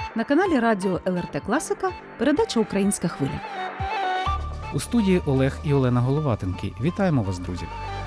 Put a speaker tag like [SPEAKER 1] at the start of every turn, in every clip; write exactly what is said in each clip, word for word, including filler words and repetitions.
[SPEAKER 1] На каналі радіо ел ер те Класика передача «Українська хвиля».
[SPEAKER 2] У студії Олег і Олена Головатенки. Вітаємо вас, друзі!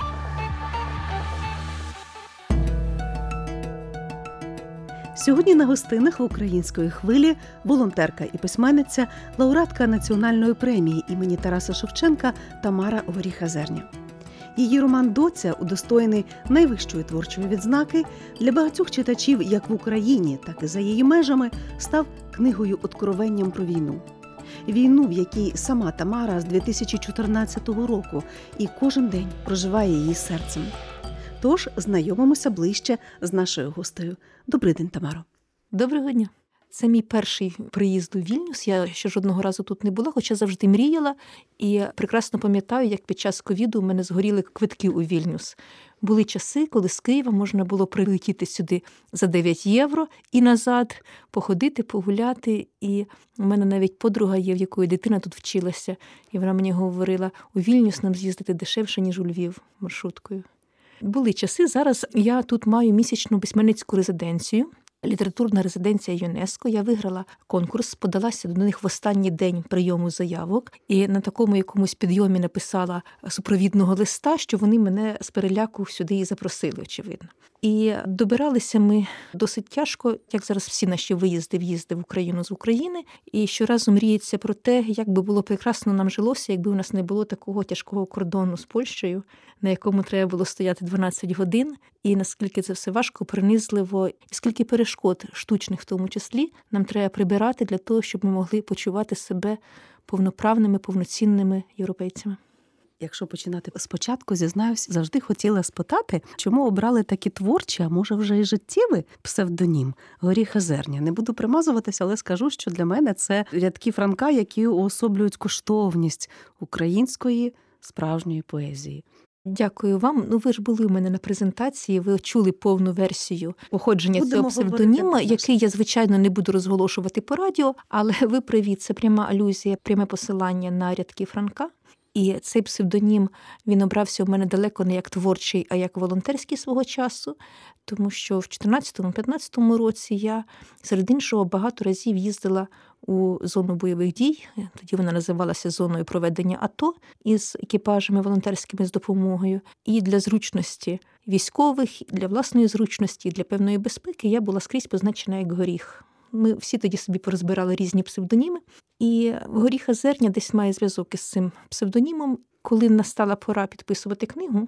[SPEAKER 1] Сьогодні на гостинах в «Української хвилі» волонтерка і письменниця, лауреатка національної премії імені Тараса Шевченка Тамара Горіха-Зерня. Її роман «Доця», удостоєний найвищої творчої відзнаки, для багатьох читачів як в Україні, так і за її межами, став книгою-откровенням про війну. Війну, в якій сама Тамара з дві тисячі чотирнадцятого року і кожен день проживає її серцем. Тож знайомимося ближче з нашою гостею. Добрий день, Тамаро.
[SPEAKER 3] Доброго дня. Це мій перший приїзд у Вільнюс. Я ще жодного разу тут не була, хоча завжди мріяла. І прекрасно пам'ятаю, як під час ковіду у мене згоріли квитки у Вільнюс. Були часи, коли з Києва можна було прилетіти сюди за дев'ять євро і назад, походити, погуляти. І у мене навіть подруга є, в якої дитина тут вчилася. І вона мені говорила, у Вільнюс нам з'їздити дешевше, ніж у Львів маршруткою. Були часи. Зараз я тут маю місячну письменницьку резиденцію. Літературна резиденція ЮНЕСКО. Я виграла конкурс, подалася до них в останній день прийому заявок і на такому якомусь підйомі написала супровідного листа, що вони мене з переляку сюди і запросили, очевидно. І добиралися ми досить тяжко, як зараз всі наші виїзди, в'їзди в Україну з України. І щоразу мріється про те, як би було прекрасно нам жилося, якби у нас не було такого тяжкого кордону з Польщею, на якому треба було стояти дванадцять годин. І наскільки це все важко, принизливо, і скільки перешкод, штучних в тому числі, нам треба прибирати для того, щоб ми могли почувати себе повноправними, повноцінними європейцями.
[SPEAKER 1] Якщо починати спочатку, зізнаюсь, завжди хотіла спитати, чому обрали такі творчі, а може вже і життєвий псевдонім Горіха-Зерня. Не буду примазуватися, але скажу, що для мене це рядки Франка, які уособлюють коштовність української справжньої поезії.
[SPEAKER 3] Дякую вам. Ну, ви ж були у мене на презентації, ви чули повну версію походження
[SPEAKER 1] Будемо
[SPEAKER 3] цього псевдоніма,
[SPEAKER 1] говорити,
[SPEAKER 3] який я, звичайно, не буду розголошувати по радіо, але ви праві, це пряма алюзія, пряме посилання на рядки Франка. І цей псевдонім, він обрався у мене далеко не як творчий, а як волонтерський свого часу, тому що в чотирнадцятому-п'ятнадцятому році я, серед іншого, багато разів їздила у зону бойових дій, тоді вона називалася зоною проведення АТО, із екіпажами волонтерськими з допомогою. І для зручності військових, для власної зручності, для певної безпеки я була скрізь позначена як Горіх. Ми всі тоді собі порозбирали різні псевдоніми. І Горіха-Зерня десь має зв'язок із цим псевдонімом. Коли настала пора підписувати книгу,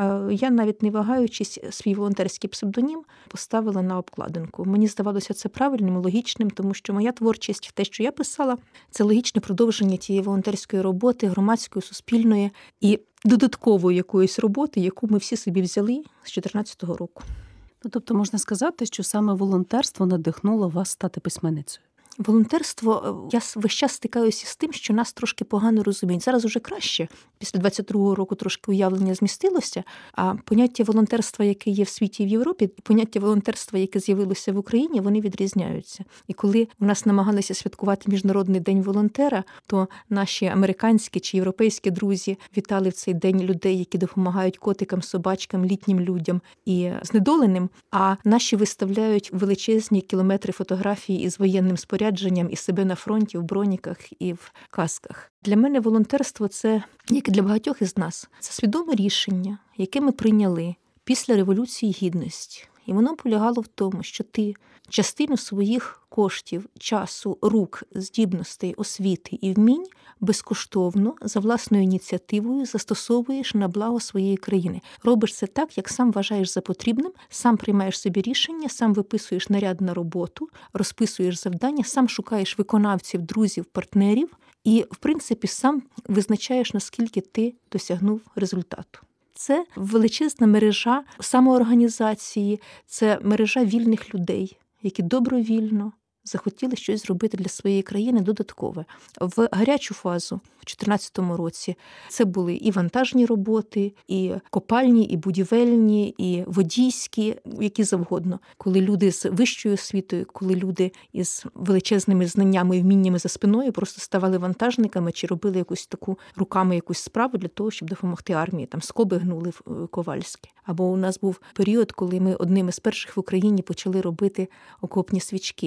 [SPEAKER 3] я, навіть не вагаючись, свій волонтерський псевдонім поставила на обкладинку. Мені здавалося це правильним, логічним, тому що моя творчість, те, що я писала, це логічне продовження тієї волонтерської роботи, громадської, суспільної і додаткової якоїсь роботи, яку ми всі собі взяли з чотирнадцятого року.
[SPEAKER 1] Ну, тобто можна сказати, що саме волонтерство надихнуло вас стати письменницею?
[SPEAKER 3] Волонтерство, я весь час стикаюся з тим, що нас трошки погано розуміють. Зараз уже краще. Після двадцять другого року трошки уявлення змістилося, а поняття волонтерства, яке є в світі і в Європі, і поняття волонтерства, яке з'явилося в Україні, вони відрізняються. І коли у нас намагалися святкувати Міжнародний день волонтера, то наші американські чи європейські друзі вітали в цей день людей, які допомагають котикам, собачкам, літнім людям і знедоленим, а наші виставляють величезні кілометри фотографій із воєнним спорядженням, і себе на фронті, в броніках і в касках. Для мене волонтерство – це, як і для багатьох із нас, це свідоме рішення, яке ми прийняли після Революції Гідності. І воно полягало в тому, що ти частину своїх коштів, часу, рук, здібностей, освіти і вмінь безкоштовно, за власною ініціативою застосовуєш на благо своєї країни. Робиш це так, як сам вважаєш за потрібним, сам приймаєш собі рішення, сам виписуєш наряд на роботу, розписуєш завдання, сам шукаєш виконавців, друзів, партнерів і, в принципі, сам визначаєш, наскільки ти досягнув результату. Це величезна мережа самоорганізації, це мережа вільних людей, які добровільно захотіли щось зробити для своєї країни додаткове. В гарячу фазу в чотирнадцятому році це були і вантажні роботи, і копальні, і будівельні, і водійські, які завгодно. Коли люди з вищою освітою, коли люди із величезними знаннями і вміннями за спиною просто ставали вантажниками чи робили якусь таку руками якусь справу для того, щоб допомогти армії. Там скоби гнули ковальські. Або у нас був період, коли ми одними з перших в Україні почали робити окопні свічки.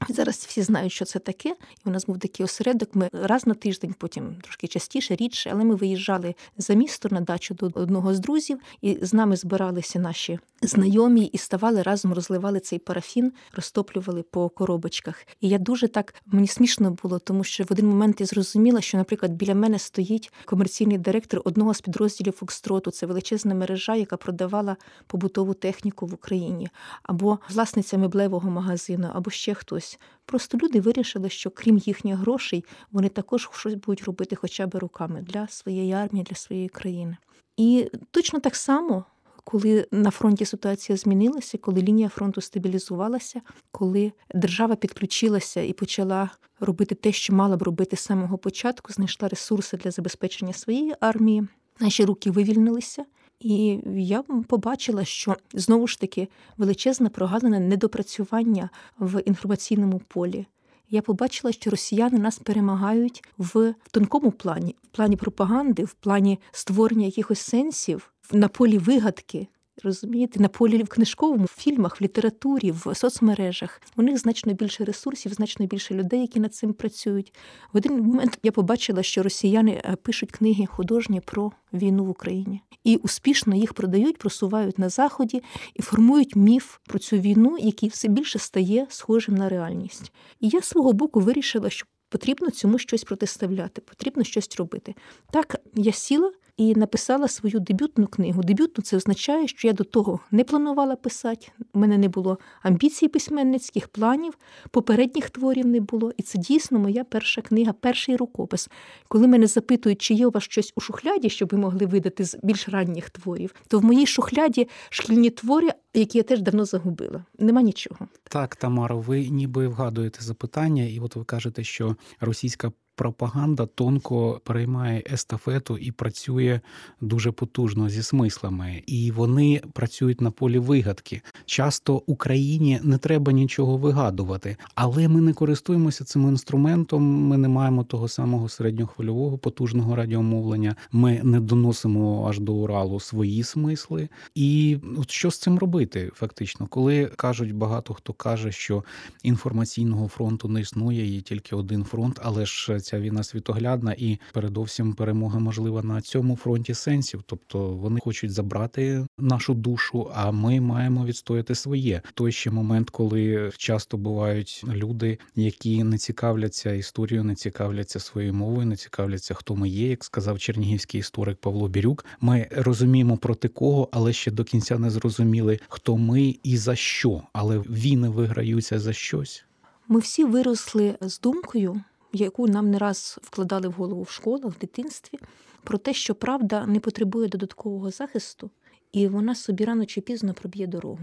[SPEAKER 3] Зараз всі знають, що це таке. І у нас був такий осередок. Ми раз на тиждень, потім трошки частіше, рідше, але ми виїжджали за місто на дачу до одного з друзів, і з нами збиралися наші знайомі і ставали разом, розливали цей парафін, розтоплювали по коробочках. І я дуже так, мені смішно було, тому що в один момент я зрозуміла, що, наприклад, біля мене стоїть комерційний директор одного з підрозділів Фокстроту. Це величезна мережа, яка продавала побутову техніку в Україні. Або власниця меблевого магазину, або ще хтось. Просто люди вирішили, що крім їхніх грошей, вони також щось будуть робити хоча б руками для своєї армії, для своєї країни. І точно так само, коли на фронті ситуація змінилася, коли лінія фронту стабілізувалася, коли держава підключилася і почала робити те, що мала б робити з самого початку, знайшла ресурси для забезпечення своєї армії, наші руки вивільнилися. І я побачила, що, знову ж таки, величезна прогалина недопрацювання в інформаційному полі. Я побачила, що росіяни нас перемагають в тонкому плані, в плані пропаганди, в плані створення якихось сенсів, на полі вигадки, розумієте, на полі в книжковому, в фільмах, в літературі, в соцмережах. У них значно більше ресурсів, значно більше людей, які над цим працюють. В один момент я побачила, що росіяни пишуть книги художні про війну в Україні. І успішно їх продають, просувають на Заході і формують міф про цю війну, який все більше стає схожим на реальність. І я з свого боку вирішила, що потрібно цьому щось протиставляти, потрібно щось робити. Так, я сіла і написала свою дебютну книгу. Дебютну – це означає, що я до того не планувала писати, у мене не було амбіцій письменницьких, планів, попередніх творів не було. І це дійсно моя перша книга, перший рукопис. Коли мене запитують, чи є у вас щось у шухляді, щоб ви могли видати з більш ранніх творів, то в моїй шухляді шкільні твори, які я теж давно загубила. Нема нічого.
[SPEAKER 2] Так, Тамаро, ви ніби вгадуєте запитання, і от ви кажете, що російська пропаганда тонко переймає естафету і працює дуже потужно зі смислами. І вони працюють на полі вигадки. Часто Україні не треба нічого вигадувати, але ми не користуємося цим інструментом, ми не маємо того самого середньохвильового потужного радіомовлення, ми не доносимо аж до Уралу свої смисли. І от що з цим робити фактично? Коли кажуть, багато хто каже, що інформаційного фронту не існує, є тільки один фронт, але ж ця війна світоглядна і передовсім перемога можлива на цьому фронті сенсів. Тобто вони хочуть забрати нашу душу, а ми маємо відстояти своє. Той ще момент, коли часто бувають люди, які не цікавляться історією, не цікавляться своєю мовою, не цікавляться, хто ми є, як сказав чернігівський історик Павло Бірюк. Ми розуміємо проти кого, але ще до кінця не зрозуміли, хто ми і за що. Але війни виграються за щось.
[SPEAKER 3] Ми всі виросли з думкою, яку нам не раз вкладали в голову в школах, в дитинстві, про те, що правда не потребує додаткового захисту, і вона собі рано чи пізно проб'є дорогу.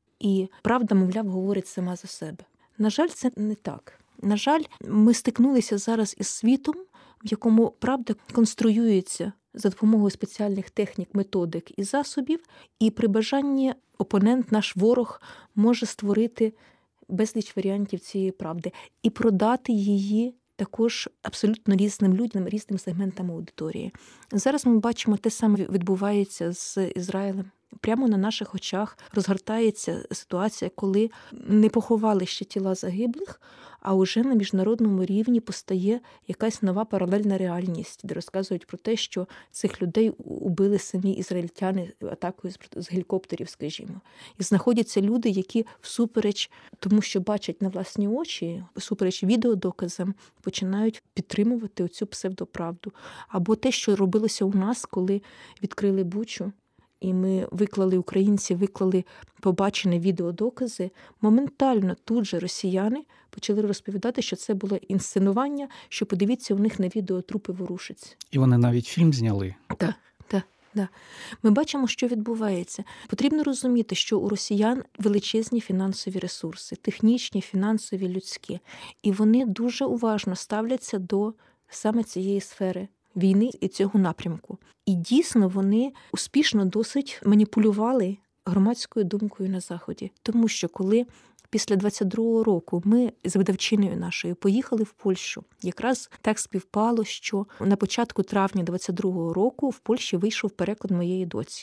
[SPEAKER 3] І правда, мовляв, говорить сама за себе. На жаль, це не так. На жаль, ми стикнулися зараз із світом, в якому правда конструюється за допомогою спеціальних технік, методик і засобів, і при бажанні опонент, наш ворог, може створити безліч варіантів цієї правди і продати її також абсолютно різним людям, різним сегментам аудиторії. Зараз ми бачимо, те саме відбувається з Ізраїлем. Прямо на наших очах розгортається ситуація, коли не поховали ще тіла загиблих, а уже на міжнародному рівні постає якась нова паралельна реальність, де розказують про те, що цих людей убили самі ізраїльтяни атакою з гелікоптерів, скажімо. І знаходяться люди, які всупереч тому, що бачать на власні очі, всупереч відеодоказам, починають підтримувати оцю псевдоправду. Або те, що робилося у нас, коли відкрили Бучу, і ми виклали, українці виклали побачені відеодокази, моментально тут же росіяни почали розповідати, що це було інсценування, що подивіться, у них на відео трупи ворушаться.
[SPEAKER 2] І вони навіть фільм зняли.
[SPEAKER 3] Так, так, так. Ми бачимо, що відбувається. Потрібно розуміти, що у росіян величезні фінансові ресурси, технічні, фінансові, людські. І вони дуже уважно ставляться до саме цієї сфери війни і цього напрямку. І дійсно вони успішно досить маніпулювали громадською думкою на Заході. Тому що коли після двадцять другого року ми з видавчиною нашою поїхали в Польщу, якраз так співпало, що на початку травня двадцять другого року в Польщі вийшов переклад моєї доці.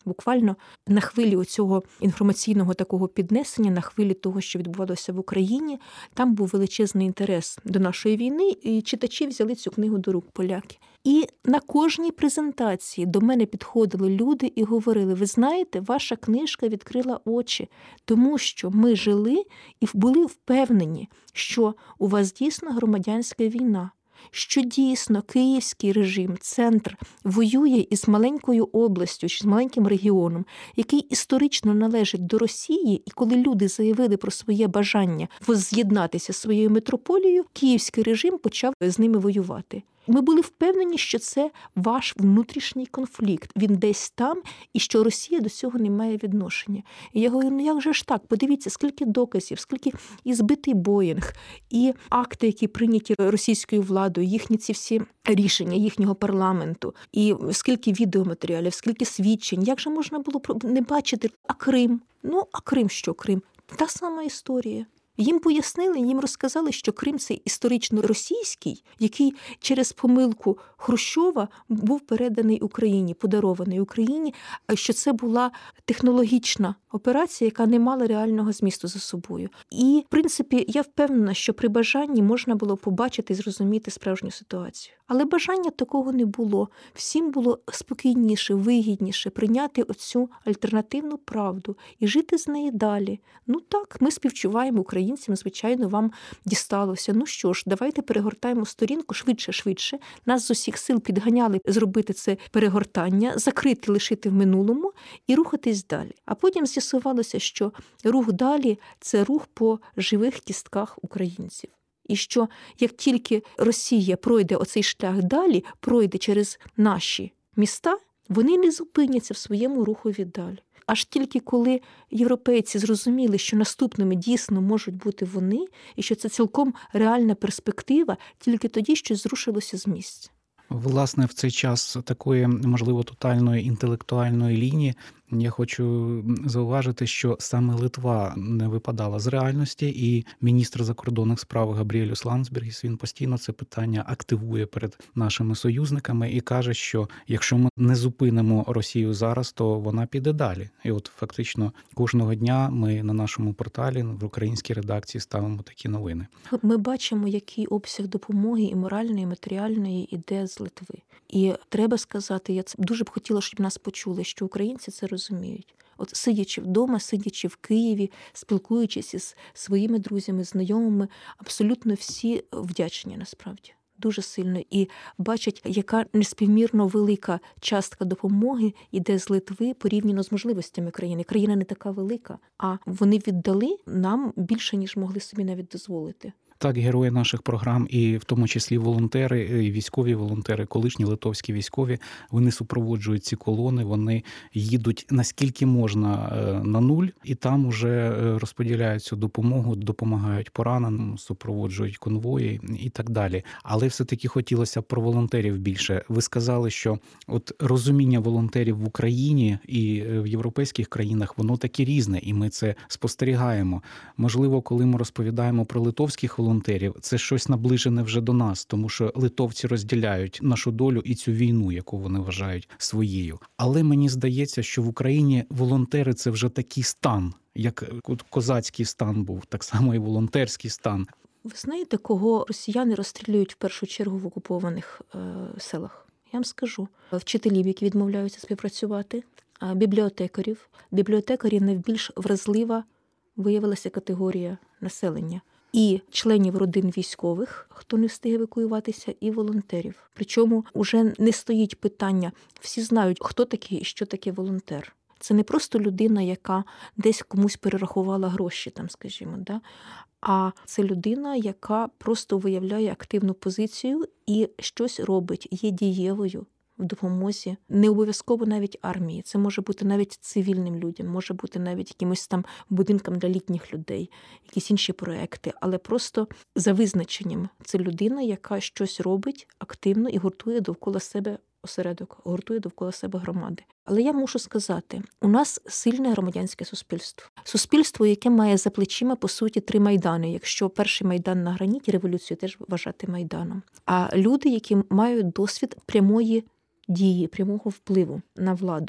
[SPEAKER 3] Буквально на хвилі оцього інформаційного такого піднесення, на хвилі того, що відбувалося в Україні, там був величезний інтерес до нашої війни, і читачі взяли цю книгу до рук, поляки. І на кожній презентації до мене підходили люди і говорили: ви знаєте, ваша книжка відкрила очі, тому що ми жили і були впевнені, що у вас дійсно громадянська війна, що дійсно київський режим, центр, воює із маленькою областю чи з маленьким регіоном, який історично належить до Росії, і коли люди заявили про своє бажання возз'єднатися зі своєю метрополією, київський режим почав з ними воювати. Ми були впевнені, що це ваш внутрішній конфлікт, він десь там, і що Росія до цього не має відношення. І я говорю, ну як же ж так? Подивіться, скільки доказів, скільки і збитий Боїнг, і акти, які прийняті російською владою, їхні ці всі рішення їхнього парламенту, і скільки відеоматеріалів, скільки свідчень. Як же можна було не бачити? А Крим? Ну, а Крим що Крим? Та сама історія. Їм пояснили, їм розказали, що Крим – це історично російський, який через помилку Хрущова був переданий Україні, подарований Україні, що це була технологічна операція, яка не мала реального змісту за собою. І, в принципі, я впевнена, що при бажанні можна було побачити і зрозуміти справжню ситуацію. Але бажання такого не було. Всім було спокійніше, вигідніше прийняти оцю альтернативну правду і жити з неї далі. Ну так, ми співчуваємо українцям, звичайно, вам дісталося. Ну що ж, давайте перегортаємо сторінку швидше-швидше. Нас з усіх сил підганяли зробити це перегортання, закрити, лишити в минулому і рухатись далі. А потім з'ясувалося, що рух далі – це рух по живих кістках українців. І що як тільки Росія пройде оцей шлях далі, пройде через наші міста, вони не зупиняться в своєму рухові далі. Аж тільки коли європейці зрозуміли, що наступними дійсно можуть бути вони, і що це цілком реальна перспектива, тільки тоді щось зрушилося з місця.
[SPEAKER 2] Власне, в цей час такої, можливо, тотальної інтелектуальної лінії я хочу зауважити, що саме Литва не випадала з реальності, і міністр закордонних справ Габріелюс Ландсбергіс, він постійно це питання активує перед нашими союзниками і каже, що якщо ми не зупинимо Росію зараз, то вона піде далі. І от фактично кожного дня ми на нашому порталі, в українській редакції ставимо такі новини.
[SPEAKER 3] Ми бачимо, який обсяг допомоги і моральної, і матеріальної іде з Литви. І треба сказати, я дуже б хотіла, щоб нас почули, що українці це розуміють. От сидячи вдома, сидячи в Києві, спілкуючись із своїми друзями, знайомими, абсолютно всі вдячні насправді. Дуже сильно. І бачать, яка неспівмірно велика частка допомоги йде з Литви порівняно з можливостями країни. Країна не така велика, а вони віддали нам більше, ніж могли собі навіть дозволити.
[SPEAKER 2] Так, герої наших програм, і в тому числі волонтери, і військові волонтери, колишні литовські військові, вони супроводжують ці колони, вони їдуть наскільки можна на нуль, і там уже розподіляють цю допомогу, допомагають пораненим, супроводжують конвої і так далі. Але все-таки хотілося б про волонтерів більше. Ви сказали, що от розуміння волонтерів в Україні і в європейських країнах, воно таке різне, і ми це спостерігаємо. Можливо, коли ми розповідаємо про литовських волонтерів, це щось наближене вже до нас, тому що литовці розділяють нашу долю і цю війну, яку вони вважають своєю. Але мені здається, що в Україні волонтери – це вже такий стан, як козацький стан був, так само і волонтерський стан.
[SPEAKER 3] Ви знаєте, кого росіяни розстрілюють в першу чергу в окупованих е, селах? Я вам скажу. Вчителів, які відмовляються співпрацювати, бібліотекарів. Бібліотекарі найбільш вразлива виявилася категорія населення. І членів родин військових, хто не встиг евакуюватися, і волонтерів. Причому вже не стоїть питання, всі знають, хто такий і що таке волонтер. Це не просто людина, яка десь комусь перерахувала гроші, там, скажімо, да? А це людина, яка просто виявляє активну позицію і щось робить, є дієвою в допомозі. Не обов'язково навіть армії. Це може бути навіть цивільним людям, може бути навіть якимось там будинкам для літніх людей, якісь інші проекти. Але просто за визначенням це людина, яка щось робить активно і гуртує довкола себе осередок, гуртує довкола себе громади. Але я мушу сказати, у нас сильне громадянське суспільство. Суспільство, яке має за плечима, по суті, три майдани. Якщо перший майдан на граніті, революцію теж вважати майданом. А люди, які мають досвід прямої дії, прямого впливу на владу.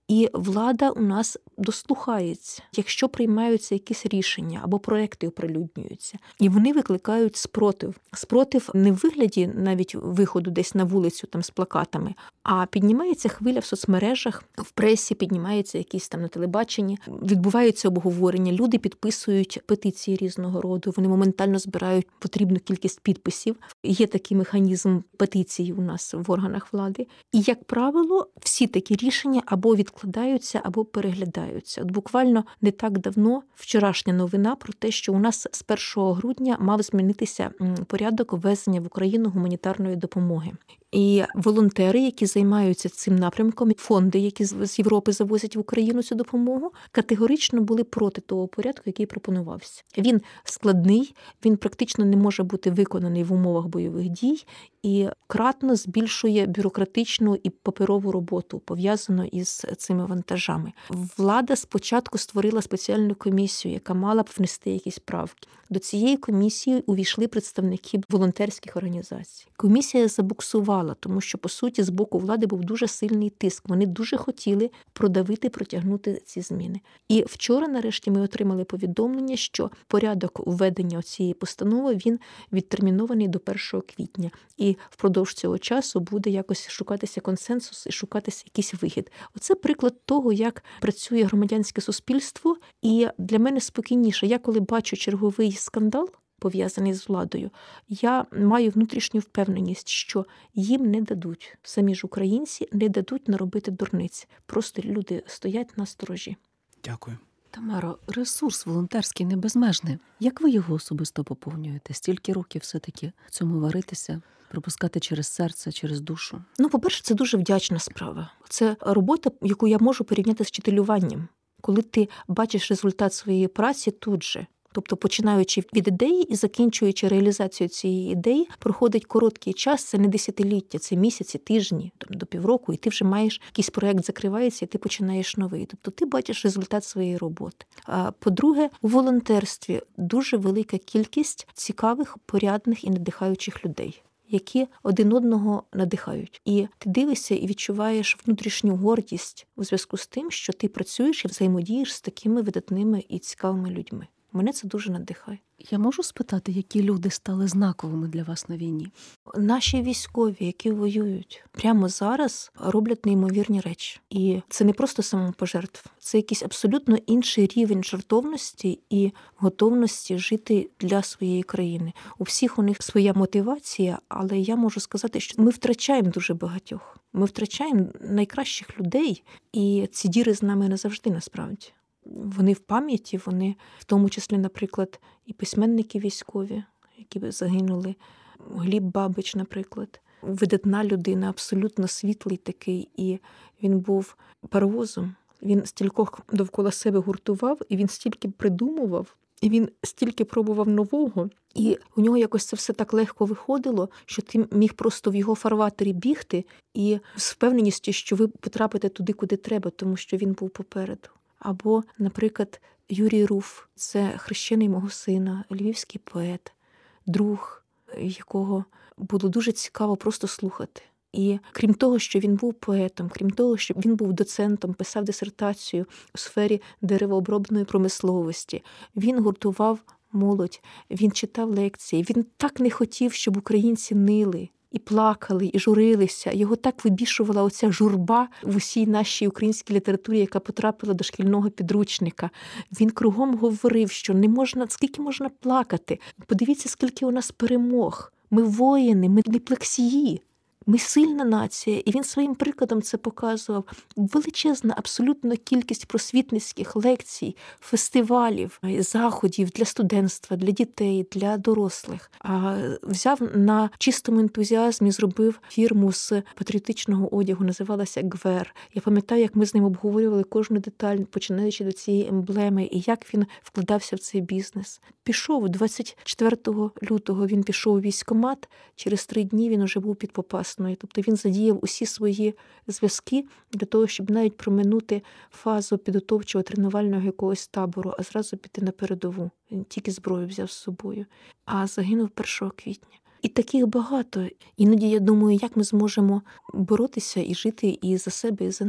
[SPEAKER 3] І влада у нас дослухається, якщо приймаються якісь рішення або проекти оприлюднюються. І вони викликають спротив. Спротив не в вигляді навіть виходу десь на вулицю там з плакатами, а піднімається хвиля в соцмережах, в пресі, піднімається якісь там на телебаченні, відбуваються обговорення, люди підписують петиції різного роду, вони моментально збирають потрібну кількість підписів. Є такий механізм петицій у нас в органах влади. І, як правило, всі такі рішення або відкладаються, або переглядаються. От буквально не так давно вчорашня новина про те, що у нас з першого грудня мав змінитися порядок ввезення в Україну гуманітарної допомоги. І волонтери, які займаються цим напрямком, фонди, які з Європи завозять в Україну цю допомогу, категорично були проти того порядку, який пропонувався. Він складний, він практично не може бути виконаний в умовах бойових дій і кратно збільшує бюрократичну і паперову роботу, пов'язану із цими вантажами. Влада спочатку створила спеціальну комісію, яка мала б внести якісь правки. До цієї комісії увійшли представники волонтерських організацій. Комісія забуксувала, тому що, по суті, з боку влади був дуже сильний тиск. Вони дуже хотіли продавити, протягнути ці зміни. І вчора, нарешті, ми отримали повідомлення, що порядок введення цієї постанови, він відтермінований до першого квітня. І впродовж цього часу буде якось шукатися консенсус і шукатися якийсь вихід. Оце приклад того, як працює громадянське суспільство. І для мене спокійніше. Я коли бачу черговий скандал, пов'язаний з владою, я маю внутрішню впевненість, що їм не дадуть, самі ж українці не дадуть наробити дурниць. Просто люди стоять на сторожі.
[SPEAKER 2] Дякую.
[SPEAKER 1] Тамаро, ресурс волонтерський не безмежний. Як ви його особисто поповнюєте? Стільки років все-таки в цьому варитися, пропускати через серце, через душу?
[SPEAKER 3] Ну, по-перше, це дуже вдячна справа. Це робота, яку я можу порівняти з вчителюванням. Коли ти бачиш результат своєї праці тут же, тобто починаючи від ідеї і закінчуючи реалізацію цієї ідеї, проходить короткий час, це не десятиліття, це місяці, тижні, там, до півроку, і ти вже маєш, якийсь проєкт закривається, і ти починаєш новий. Тобто ти бачиш результат своєї роботи. А по-друге, у волонтерстві дуже велика кількість цікавих, порядних і надихаючих людей, які один одного надихають. І ти дивишся і відчуваєш внутрішню гордість у зв'язку з тим, що ти працюєш і взаємодієш з такими видатними і цікавими людьми. Мене це дуже надихає.
[SPEAKER 1] Я можу спитати, які люди стали знаковими для вас на війні?
[SPEAKER 3] Наші військові, які воюють, прямо зараз роблять неймовірні речі. І це не просто самопожертв. Це якийсь абсолютно інший рівень жертовності і готовності жити для своєї країни. У всіх у них своя мотивація, але я можу сказати, що ми втрачаємо дуже багатьох. Ми втрачаємо найкращих людей, і ці діри з нами назавжди, насправді. Вони в пам'яті, вони в тому числі, наприклад, і письменники військові, які загинули. Гліб Бабич, наприклад. Видатна людина, абсолютно світлий такий, і він був паровозом. Він стількох довкола себе гуртував, і він стільки придумував, і він стільки пробував нового. І у нього якось це все так легко виходило, що ти міг просто в його фарватері бігти і з впевненістю, що ви потрапите туди, куди треба, тому що він був попереду. Або, наприклад, Юрій Руф – це хрещений мого сина, львівський поет, друг, якого було дуже цікаво просто слухати. І крім того, що він був поетом, крім того, що він був доцентом, писав дисертацію у сфері деревообробної промисловості, він гуртував молодь, він читав лекції, він так не хотів, щоб українці нили. І плакали, і журилися. Його так вибішувала оця журба в усій нашій українській літературі, яка потрапила до шкільного підручника. Він кругом говорив, що не можна, скільки можна плакати. Подивіться, скільки у нас перемог. Ми воїни, ми не плексії. Ми сильна нація, і він своїм прикладом це показував. Величезна абсолютно кількість просвітницьких лекцій, фестивалів, заходів для студентства, для дітей, для дорослих. А взяв на чистому ентузіазмі, зробив фірму з патріотичного одягу, називалася «Гвер». Я пам'ятаю, як ми з ним обговорювали кожну деталь, починаючи до цієї емблеми, і як він вкладався в цей бізнес. Пішов двадцять четвертого лютого, він пішов у військкомат, через три дні він уже був під Попасною. Тобто він задіяв усі свої зв'язки для того, щоб навіть проминути фазу підготовчого тренувального якогось табору, а зразу піти на передову. Він тільки зброю взяв з собою, а загинув першого квітня. І таких багато. Іноді я думаю, як ми зможемо боротися і жити і за себе, і за них.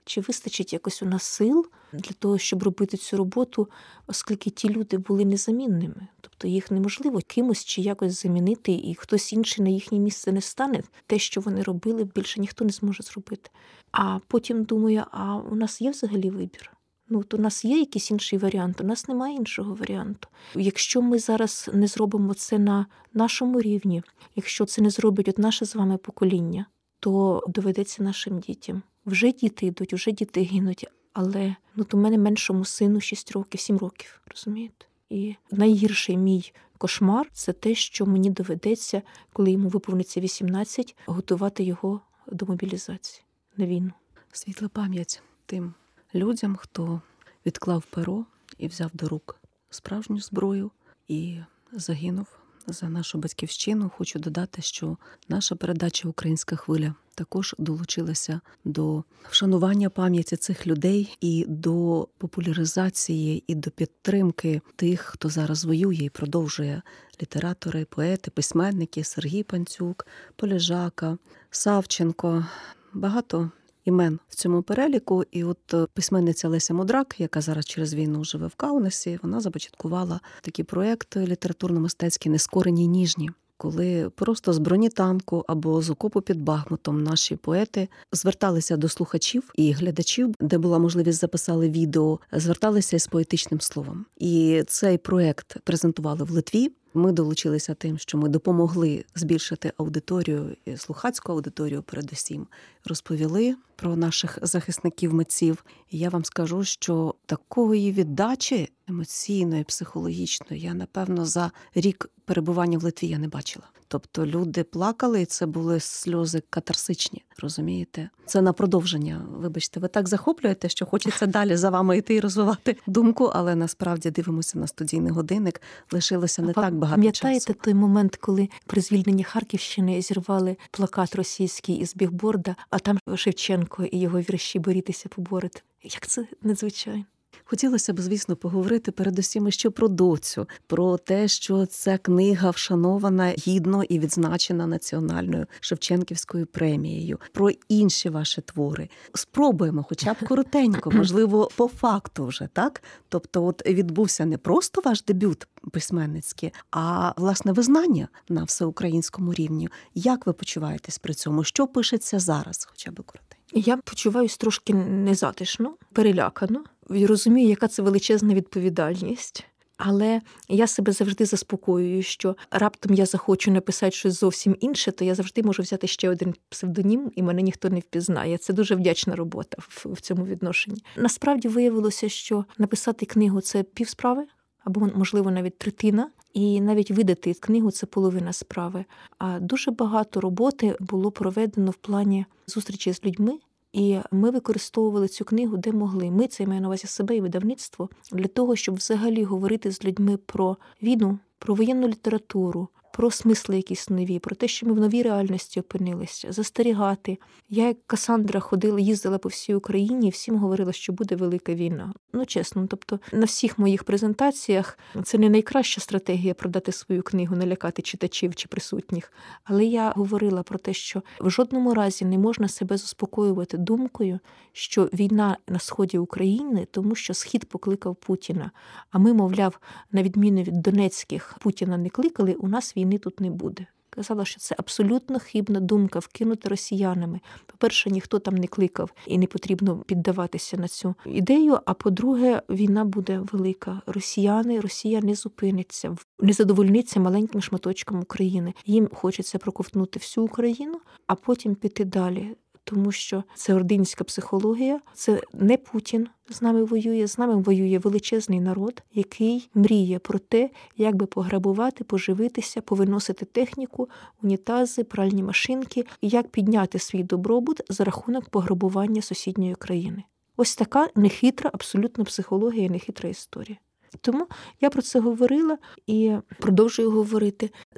[SPEAKER 3] чи вистачить якось у нас сил для того, щоб робити цю роботу, оскільки ті люди були незамінними. Тобто їх неможливо кимось чи якось замінити, і хтось інший на їхнє місце не стане. Те, що вони робили, більше ніхто не зможе зробити. А потім думаю, а у нас є взагалі вибір? Ну, от у нас є якийсь інший варіант, у нас немає іншого варіанту. Якщо ми зараз не зробимо це на нашому рівні, якщо це не зробить от наше з вами покоління, то доведеться нашим дітям. Вже діти йдуть, вже діти гинуть, але ну, то в мене меншому сину шість років, сім років, розумієте? І найгірший мій кошмар – це те, що мені доведеться, коли йому виповниться вісімнадцять, готувати його до мобілізації на війну.
[SPEAKER 1] Світла пам'ять тим людям, хто відклав перо і взяв до рук справжню зброю і загинув за нашу батьківщину. Хочу додати, що наша передача «Українська хвиля» також долучилася до вшанування пам'яті цих людей і до популяризації, і до підтримки тих, хто зараз воює і продовжує: літератори, поети, письменники, Сергій Панцюк, Полежака, Савченко, багато імен в цьому переліку. І от письменниця Леся Мудрак, яка зараз через війну живе в Каунасі, вона започаткувала такий проєкт літературно-мистецький «Нескорені ніжні», коли просто з бронетанку або з окопу під Бахмутом наші поети зверталися до слухачів і глядачів, де була можливість, записали відео, зверталися із поетичним словом. І цей проєкт презентували в Литві. Ми долучилися тим, що ми допомогли збільшити аудиторію, слухацьку аудиторію передусім, розповіли про наших захисників-митців. І я вам скажу, що такої віддачі емоційної, психологічної я, напевно, за рік перебування в Литві я не бачила. Тобто люди плакали, і це були сльози катарсичні, розумієте? Це на продовження. Вибачте, ви так захоплюєте, що хочеться далі за вами йти і розвивати думку, але насправді дивимося на студійний годинник, лишилося не а так багато часу.
[SPEAKER 3] Пам'ятаєте той момент, коли при звільненні Харківщини зірвали плакат російський із бігборда, а там Шевченко і його вірші «Борітеся, поборете». Як це надзвичайно.
[SPEAKER 1] Хотілося б, звісно, поговорити передусім ще про доцю, про те, що ця книга вшанована гідно і відзначена Національною Шевченківською премією, про інші ваші твори. Спробуємо хоча б коротенько, можливо, по факту вже, так? Тобто от відбувся не просто ваш дебют письменницький, а, власне, визнання на всеукраїнському рівні. Як ви почуваєтесь при цьому? Що пишеться зараз, хоча б коротенько?
[SPEAKER 3] Я почуваюсь трошки незатишно, перелякано. І розумію, яка це величезна відповідальність. Але я себе завжди заспокоюю, що раптом я захочу написати щось зовсім інше, то я завжди можу взяти ще один псевдонім, і мене ніхто не впізнає. Це дуже вдячна робота в, в цьому відношенні. Насправді виявилося, що написати книгу – це півсправи, або, можливо, навіть третина. І навіть видати книгу – це половина справи. А дуже багато роботи було проведено в плані зустрічі з людьми. І ми використовували цю книгу, де могли. Ми, це я маю на увазі себе і видавництво, для того, щоб взагалі говорити з людьми про війну, про воєнну літературу, про смисли якісь нові, про те, що ми в новій реальності опинилися, застерігати. Я, як Касандра, ходила, їздила по всій Україні і всім говорила, що буде велика війна. Ну, чесно, тобто на всіх моїх презентаціях це не найкраща стратегія продати свою книгу, налякати читачів чи присутніх. Але я говорила про те, що в жодному разі не можна себе заспокоювати думкою, що війна на сході України, тому що Схід покликав Путіна. А ми, мовляв, на відміну від Донецьких, Путіна не кликали, у нас війни тут не буде. Казала, що це абсолютно хибна думка, вкинута росіянами. По-перше, ніхто там не кликав і не потрібно піддаватися на цю ідею. А по-друге, війна буде велика. Росіяни, Росія не зупиниться, не задовольниться маленьким шматочком України. Їм хочеться проковтнути всю Україну, а потім піти далі. Тому що це ординська психологія, це не Путін з нами воює, з нами воює величезний народ, який мріє про те, як би пограбувати, поживитися, повиносити техніку, унітази, пральні машинки, і як підняти свій добробут за рахунок пограбування сусідньої країни. Ось така нехитра, абсолютно психологія, нехитра історія. Тому я про це говорила і продовжую говорити.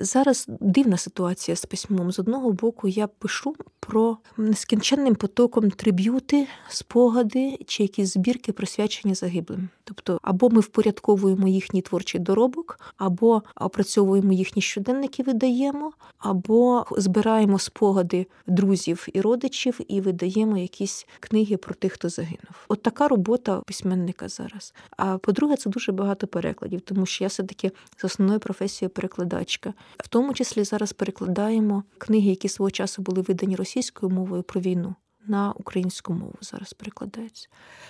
[SPEAKER 3] Зараз дивна ситуація з письмом. З одного боку, я пишу про нескінченним потоком триб'юти, спогади чи якісь збірки, присвячені загиблим. Тобто, або ми впорядковуємо їхній творчий доробок, або опрацьовуємо їхні щоденники, видаємо, або збираємо спогади друзів і родичів і видаємо якісь книги про тих, хто загинув. От така робота письменника зараз. А по-друге, це дуже багато перекладів, тому що я все-таки з основною професією перекладачка. В тому числі зараз перекладаємо книги, які свого часу були видані російською мовою про війну, на українську мову зараз перекладаються.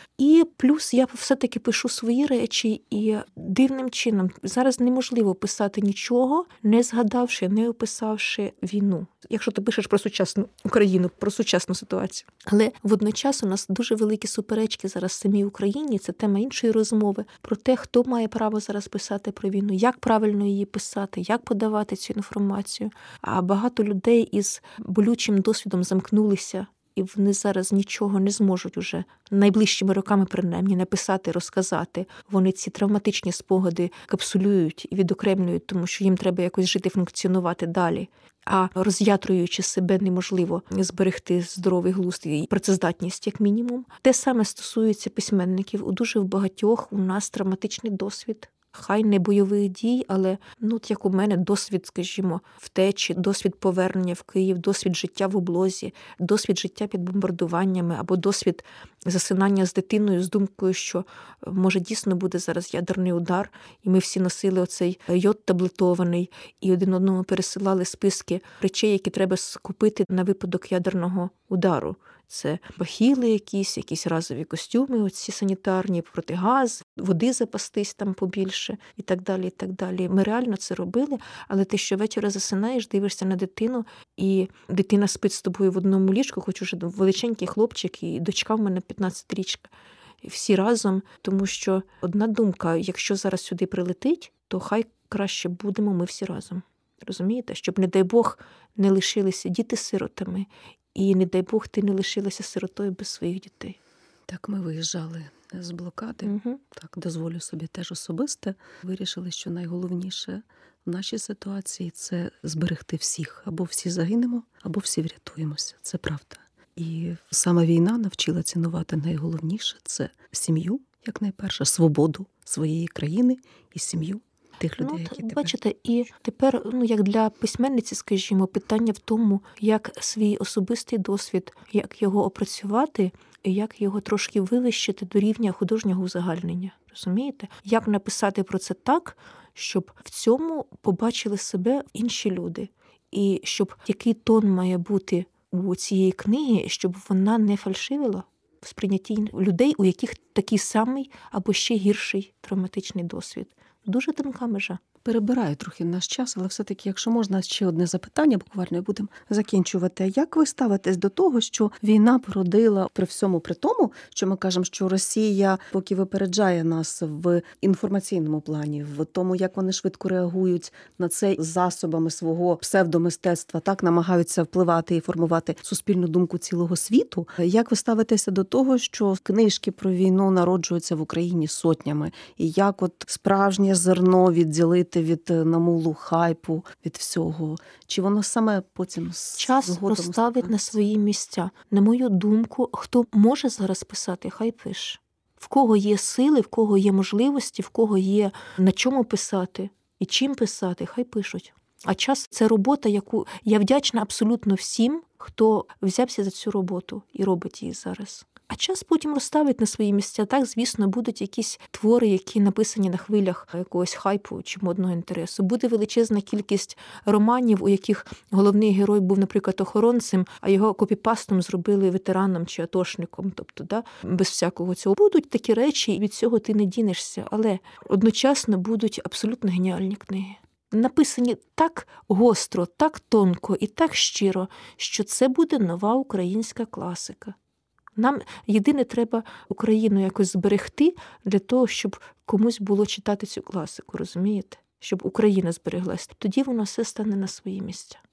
[SPEAKER 3] І плюс я все-таки пишу свої речі, і дивним чином зараз неможливо писати нічого, не згадавши, не описавши війну. Якщо ти пишеш про сучасну Україну, про сучасну ситуацію. Але водночас у нас дуже великі суперечки зараз в самій Україні, це тема іншої розмови, про те, хто має право зараз писати про війну, як правильно її писати, як подавати цю інформацію. А багато людей із болючим досвідом замкнулися, і вони зараз нічого не зможуть уже найближчими роками, принаймні, написати, розказати. Вони ці травматичні спогади капсулюють і відокремлюють, тому що їм треба якось жити, функціонувати далі. А роз'ятруючи себе, неможливо зберегти здоровий глузд і працездатність, як мінімум. Те саме стосується письменників. У дуже в багатьох у нас травматичний досвід. Хай не бойових дій, але, ну, от як у мене, досвід, скажімо, втечі, досвід повернення в Київ, досвід життя в облозі, досвід життя під бомбардуваннями або досвід засинання з дитиною з думкою, що, може, дійсно буде зараз ядерний удар, і ми всі носили оцей йод таблетований, і один одному пересилали списки речей, які треба скупити на випадок ядерного удару. Це бахіли якісь, якісь разові костюми, оці санітарні, протигаз, води запастись там побільше і так далі, і так далі. Ми реально це робили, але ти щовечора засинаєш, дивишся на дитину, і дитина спить з тобою в одному ліжку, хоч уже величенький хлопчик, і дочка в мене п'ятнадцятирічка. Всі разом, тому що одна думка, якщо зараз сюди прилетить, то хай краще будемо ми всі разом. Розумієте? Щоб, не дай Бог, не лишилися діти сиротами, і, не дай Бог, ти не лишилася сиротою без своїх дітей.
[SPEAKER 1] Так, ми виїжджали з блокади.
[SPEAKER 3] Угу.
[SPEAKER 1] Так, дозволю собі теж особисте. Вирішили, що найголовніше в нашій ситуації – це зберегти всіх. Або всі загинемо, або всі врятуємося. Це правда. І саме війна навчила цінувати найголовніше – це сім'ю, як найперше, свободу своєї країни і сім'ю тих людей,
[SPEAKER 3] ну,
[SPEAKER 1] які тебе...
[SPEAKER 3] Бачите, і тепер, ну, як для письменниці, скажімо, питання в тому, як свій особистий досвід, як його опрацювати, і як його трошки вивищити до рівня художнього узагальнення. Розумієте? Як написати про це так, щоб в цьому побачили себе інші люди. І щоб який тон має бути у цієї книги, щоб вона не фальшивила в сприйнятті людей, у яких такий самий або ще гірший травматичний досвід. Дуже тонка межа.
[SPEAKER 1] Перебираю трохи наш час, але все-таки, якщо можна, ще одне запитання, буквально, і будемо закінчувати. Як ви ставитесь до того, що війна породила при всьому при тому, що ми кажемо, що Росія поки випереджає нас в інформаційному плані, в тому, як вони швидко реагують на це засобами свого псевдомистецтва, так, намагаються впливати і формувати суспільну думку цілого світу. Як ви ставитеся до того, що книжки про війну народжуються в Україні сотнями? І як от справжнє зерно відділити від намулу, хайпу, від всього? Чи воно саме потім
[SPEAKER 3] час розставить на свої місця? На мою думку, хто може зараз писати, хай пише. В кого є сили, в кого є можливості, в кого є на чому писати і чим писати, хай пишуть. А час – це робота, яку я вдячна абсолютно всім, хто взявся за цю роботу і робить її зараз. А час потім розставить на свої місця. Так, звісно, будуть якісь твори, які написані на хвилях якогось хайпу чи модного інтересу. Буде величезна кількість романів, у яких головний герой був, наприклад, охоронцем, а його копіпастом зробили ветераном чи атошником. Тобто, да, без всякого цього. Будуть такі речі, і від цього ти не дінешся. Але одночасно будуть абсолютно геніальні книги. Написані так гостро, так тонко і так щиро, що це буде нова українська класика. Нам єдине треба Україну якось зберегти для того, щоб комусь було читати цю класику, розумієте? Щоб Україна збереглась. Тоді воно все стане на свої місця.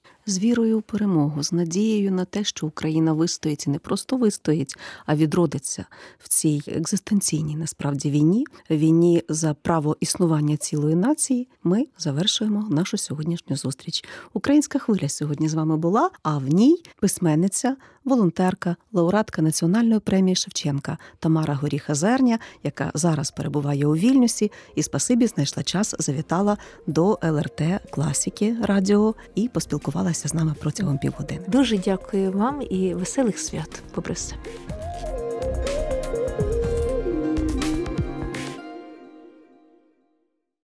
[SPEAKER 1] З вірою у перемогу, з надією на те, що Україна вистоїть і не просто вистоїть, а відродиться в цій екзистенційній, насправді, війні, війні за право існування цілої нації, ми завершуємо нашу сьогоднішню зустріч. Українська хвиля сьогодні з вами була, а в ній письменниця, волонтерка, лауреатка Національної премії Шевченка Тамара Горіха-Зерня, яка зараз перебуває у Вільнюсі, і спасибі знайшла час, завітала до ел ер те Класіки радіо і поспілкувалася з нами протягом півгодини.
[SPEAKER 3] Дуже дякую вам і веселих свят, попри все.